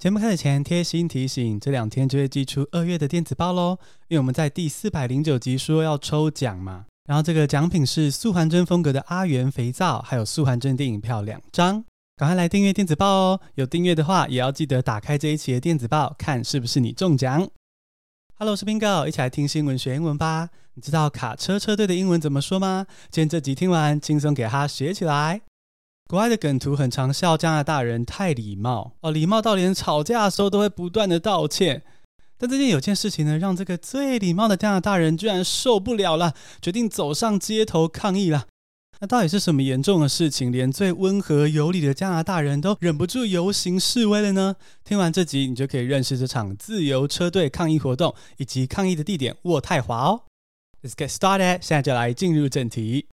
節目開始前貼心提醒，這2天就會寄出2月的電子報咯，因為我們在第409集說要抽獎嘛。然後這個獎品是素還真風格的阿元肥皂，還有素還真電影票2張，趕快來訂閱電子報哦！有訂閱的話，也要記得打開這一期的電子報，看是不是你中獎。Hello， 我是 Bingo， 一起來聽新聞學英文吧。你知道卡車車隊的英文怎麼說嗎？今天這集聽完，輕鬆給它學起來。國外的梗圖很常笑加拿大人太禮貌哦，禮貌到連吵架的時候都會不斷的道歉。但最近有件事情呢，讓這個最禮貌的加拿大人居然受不了了，決定走上街頭抗議了。那到底是什麼嚴重的事情，連最溫和有禮的加拿大人都忍不住遊行示威了呢？聽完這集，你就可以認識這場自由車隊抗議活動以及抗議的地點渥太華哦。Let's get started， 現在就來進入正題。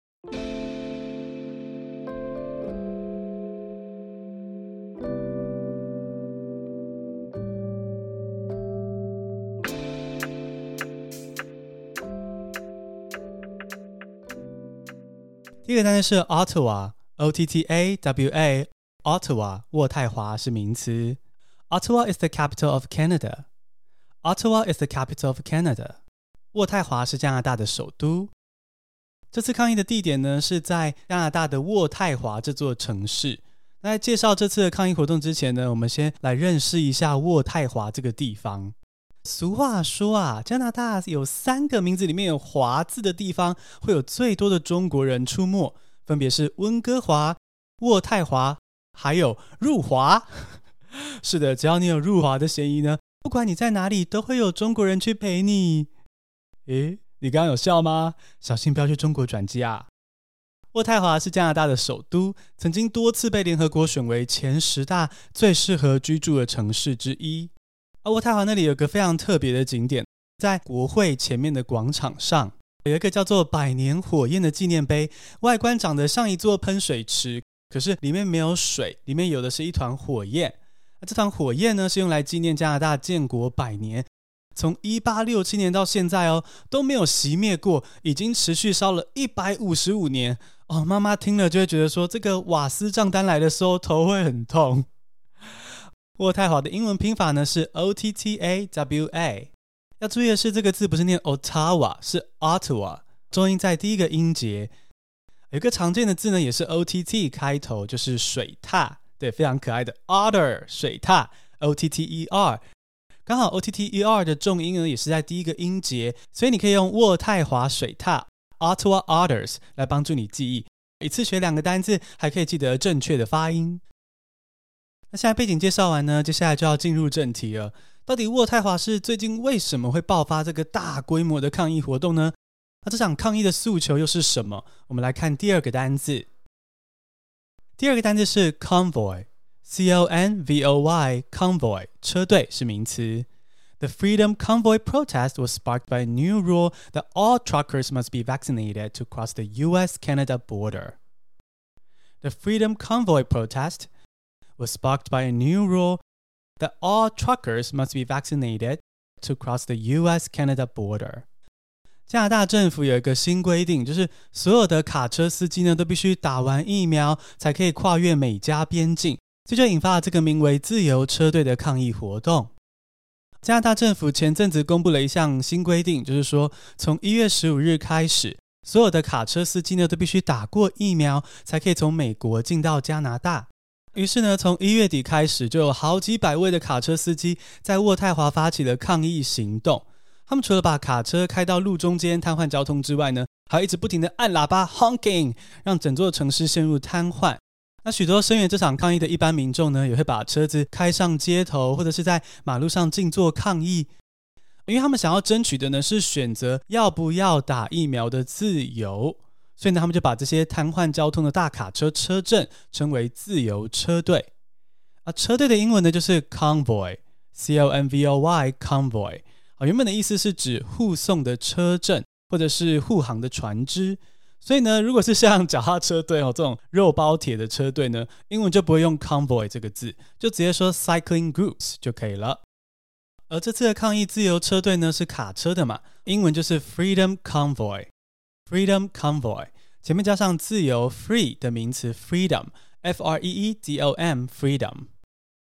第一個單詞是 Ottawa， O-T-T-A-W-A， Ottawa， 渥太華是名詞。Ottawa is the capital of Canada. Ottawa is the capital of Canada. 渥太華是加拿大的首都。這次抗議的地點呢，是在加拿大的渥太華這座城市。那在介紹這次的抗議活動之前呢，我們先來認識一下渥太華這個地方。俗話說啊，加拿大有3個名字裡面有華字的地方會有最多的中國人出沒，分別是溫哥華、渥太華還有入華。是的，只要你有入華的嫌疑呢，不管你在哪裡都會有中國人去陪你。誒，你剛剛有笑嗎？小心不要去中國轉機啊。渥太華是加拿大的首都，曾經多次被聯合國選為前10大最適合居住的城市之一。渥太華那裡有個非常特別的景點，在國會前面的廣場上有一個叫做百年火焰的紀念碑，外觀長得像一座噴水池，可是裡面沒有水，裡面有的是一團火焰。這團火焰呢，是用來紀念加拿大建國100年，從1867年到現在都沒有熄滅過，已經持續燒了155年。媽媽聽了就會覺得說，這個瓦斯賬單來的時候頭會很痛。渥太華的英文拼法呢是 O-T-T-A-W-A， 要注意的是這個字不是念 Ottawa， 是 Ottawa， 重音在第一個音節。有一個常見的字呢也是 O-T-T 開頭，就是水獺，對，非常可愛的 Otter 水獺 O-T-T-E-R， 剛好 O-T-T-E-R 的重音呢也是在第一個音節，所以你可以用渥太華水獺 Ottawa Otters 來幫助你記憶，一次學2個單字，還可以記得正確的發音。那現在背景介紹完呢，接下來就要進入正題了。到底渥太華市最近為什麼會爆發這個大規模的抗議活動呢？那這場抗議的訴求又是什麼？我們來看第2個單字。第2個單字是 convoy， C-O-N-V-O-Y， convoy， 車隊是名詞。The Freedom Convoy protest was sparked by a new rule that all truckers must be vaccinated to cross the U.S.-Canada border. The Freedom Convoy protest was sparked by a new rule that all truckers must be vaccinated to cross the U.S.-Canada border. 加拿大政府有一個新規定，就是所有的卡車司機呢都必須打完疫苗才可以跨越美加邊境，這就引發了這個名為自由車隊的抗議活動。加拿大政府前陣子公布了一項新規定，就是說從1月15日開始，所有的卡車司機呢都必須打過疫苗才可以從美國進到加拿大。於是呢，從1月底開始，就有好幾百位的卡車司機在渥太華發起了抗議行動。他們除了把卡車開到路中間癱瘓交通之外呢，還一直不停的按喇叭 honking， 讓整座城市陷入癱瘓。那許多聲援這場抗議的一般民眾呢，也會把車子開上街頭，或者是在馬路上靜坐抗議，因為他們想要爭取的呢是選擇要不要打疫苗的自由。所以呢，他们就把這些癱瘓交通的大卡車車陣稱為自由車隊。車隊的英文呢就是 convoy， C-O-N-V-O-Y， convoy。原本的意思是指護送的車陣或者是護航的船隻。所以呢，如果是像腳踏車隊這種肉包鐵的車隊呢，英文就不會用 convoy 這個字，就直接說 cycling groups 就可以了。而這次的抗議自由車隊呢是卡車的嘛，英文就是 freedom convoy。Freedom Convoy 前面加上自由 free 的名詞 freedom， F-R-E-E-D-O-M Freedom。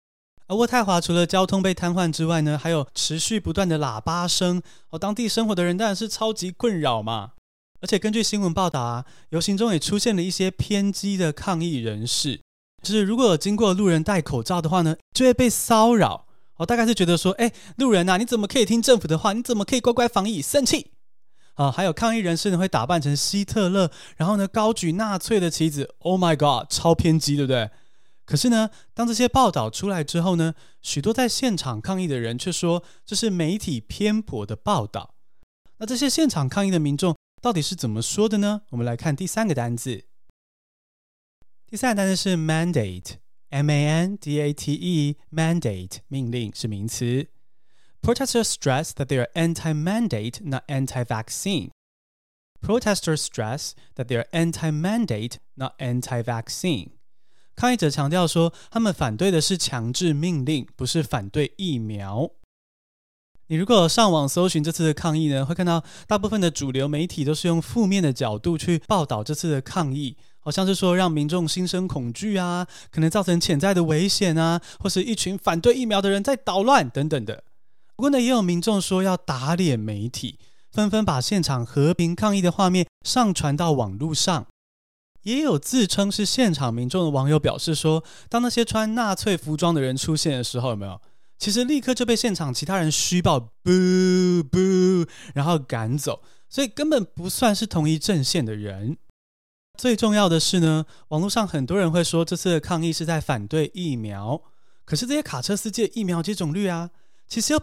而渥太華除了交通被癱瘓之外呢，還有持續不斷的喇叭聲，當地生活的人當然是超級困擾嘛。而且根據新聞報道啊，遊行中也出現了一些偏激的抗議人士，就是如果有經過路人戴口罩的話呢，就會被騷擾。大概是覺得說，路人啊，你怎麼可以聽政府的話？你怎麼可以乖乖防疫？生氣！還有抗議人士呢，會打扮成希特勒，然後呢高舉納粹的旗子。Oh my god， 超偏激，對不對？可是呢，當這些報道出來之後呢，許多在現場抗議的人卻說這是媒體偏頗的報道。那這些現場抗議的民眾到底是怎麼說的呢？我們來看第三個單字。第三個單字是 mandate。M-A-N-D-A-T-E mandate 命令是名詞。Protesters stress that they are anti-mandate, not anti-vaccine. Protesters stress that they are anti-mandate, not anti-vaccine. 抗議者強調說，他們反對的是強制命令，不是反對疫苗。你如果上網搜尋這次的抗議呢，會看到大部分的主流媒體都是用負面的角度去報道這次的抗議。好像是說讓民眾心生恐懼啊，可能造成潛在的危險啊，或是一群反對疫苗的人在搗亂等等的。不過呢，也有民眾說要打臉媒體，紛紛把現場和平抗議的畫面上傳到網絡上。也有自稱是現場民眾的網友表示說，當那些穿納粹服裝的人出現的時候，有沒有？其實立刻就被現场其他人噓爆 boo boo， 然後趕走，所以根本不算是同一陣線的人。最重要的是呢，網絡上很多人會說這次的抗議是在反對疫苗，可是這些卡車司機的疫苗接種率啊，其實有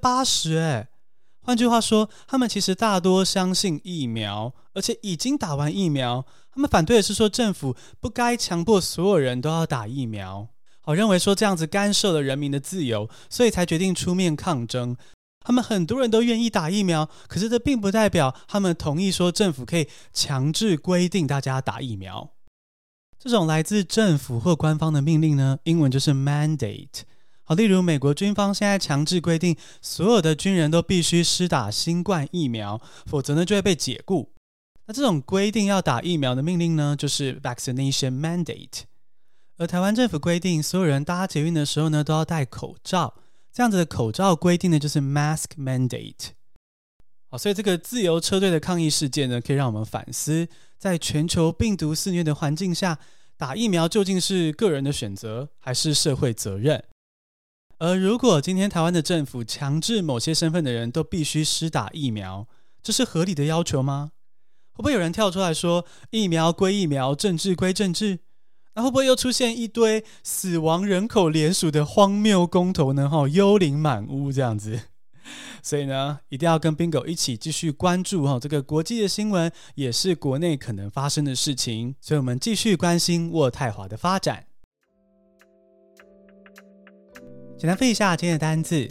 80%。換句話說，他們其實大多相信疫苗，而且已經打完疫苗。他們反對的是說政府不該強迫所有人都要打疫苗，認為說這樣子干涉了人民的自由，所以才決定出面抗爭。他們很多人都願意打疫苗，可是這並不代表他們同意說政府可以強制規定大家打疫苗。這種來自政府或官方的命令呢，英文就是 mandate。例如美國軍方現在強制規定所有的軍人都必須施打新冠疫苗，否則呢就會被解僱。那這種規定要打疫苗的命令呢，就是 vaccination mandate。而台灣政府規定所有人搭捷運的時候呢，都要戴口罩。這樣子的口罩規定呢，就是 mask mandate。所以這個自由車隊的抗議事件呢，可以讓我們反思，在全球病毒肆虐的環境下，打疫苗究竟是個人的選擇，還是社會責任？而如果今天台灣的政府強制某些身份的人都必須施打疫苗，這是合理的要求嗎？會不會有人跳出來說，疫苗歸疫苗，政治歸政治？那會不會又出現一堆死亡人口連署的荒謬公投呢？幽靈滿屋這樣子。所以呢，一定要跟 Bingo 一起繼續關注這個國際的新聞，也是國內可能發生的事情。所以我們繼續關心渥太華的發展。簡單複習一下今天的單字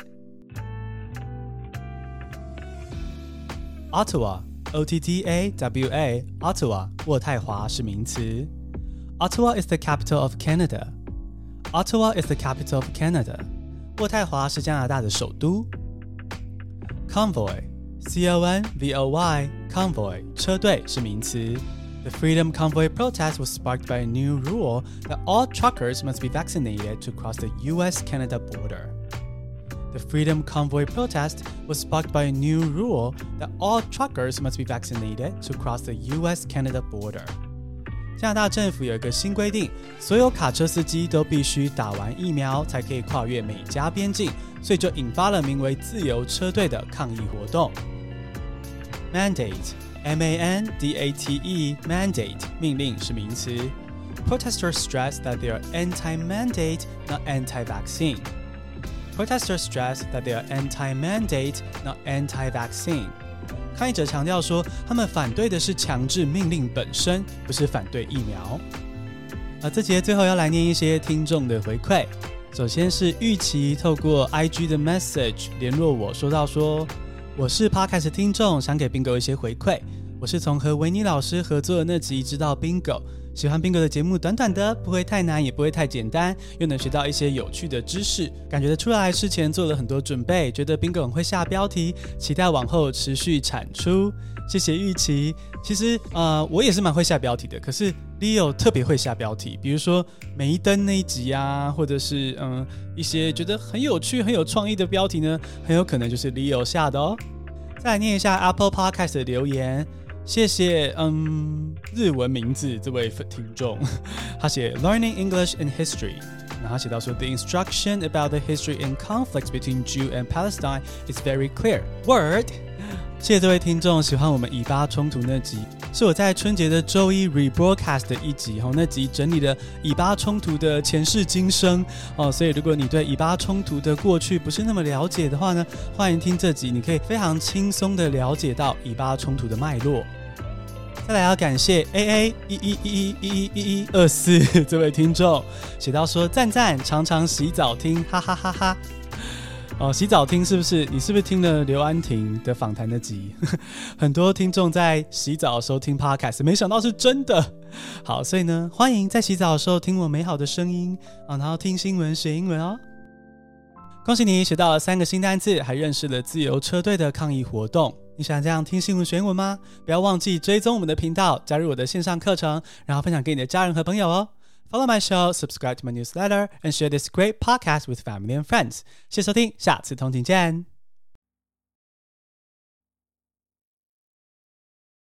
Ottawa O-T-T-A-W-A Ottawa 渥太華是名詞。Ottawa is the capital of Canada. Ottawa is the capital of Canada. 渥太華是加拿大的首都。Convoy, C-O-N-V-O-Y, Convoy, 車隊是名詞。The Freedom Convoy protest was sparked by a new rule that all truckers must be vaccinated to cross the U.S.-Canada border. The Freedom Convoy protest was sparked by a new rule that all truckers must be vaccinated to cross the U.S.-Canada border. 加拿大政府有一個新規定，所有卡車司機都必須打完疫苗才可以跨越美加邊境，所以就引發了名為自由車隊的抗議活動。Mandate, M-A-N-D-A-T-E, mandate, 命令是名詞。Protesters stress that they are anti-mandate, not anti-vaccine. Protesters stress that they are anti-mandate, not anti-vaccine. 抗議者強調說，他們反對的是強制命令本身，不是反對疫苗。這節最後要來念一些聽眾的回饋。首先是玉琪透過 IG 的 message 聯絡我，說到說，我是 Podcast 聽眾，想給 Bingo 一些回饋。我是從和維尼老師合作的那集知道 Bingo， 喜歡 Bingo 的節目，短短的，不會太難，也不會太簡單，又能學到一些有趣的知識，感覺得出來事前做了很多準備，覺得 Bingo 很會下標題，期待往後持續產出。謝謝玉琪。其實我也是蠻會下標題的，可是 Leo 特別會下標題，比如說梅登那一集啊，或者是一些覺得很有趣、很有創意的標題呢，很有可能就是 Leo 下的哦。再來念一下 Apple Podcast 的留言。謝謝日文名字這位聽眾，他寫 Learning English and History， 然後他寫到說 The instruction about the history and conflicts between Jew and Palestine is very clear. Word， 謝謝這位聽眾喜歡我們以巴衝突那集，是我在春節的週一 rebroadcast 的一集，那集整理了以巴衝突的前世今生所以如果你對以巴衝突的過去不是那麼了解的話呢，歡迎聽這集，你可以非常輕鬆的了解到以巴衝突的脈絡。再來要感謝 AA11111124這位聽眾，寫到說讚讚，常常洗澡聽，哈哈哈哈。洗澡聽是不是？你是不是聽了劉安婷的訪談那集？很多聽眾在洗澡的時候聽 podcast， 沒想到是真的。好，所以呢，歡迎在洗澡的時候聽我美好的聲音然後聽新聞學英文哦。恭喜你學到了3個新單字，還認識了自由車隊的抗議活動。你喜歡這樣聽新聞學英文嗎？不要忘記追蹤我們的頻道，加入我的線上課程，然後分享給你的家人和朋友哦。Follow my show, subscribe to my newsletter, and share this great podcast with family and friends. 謝謝收聽，下次通勤見。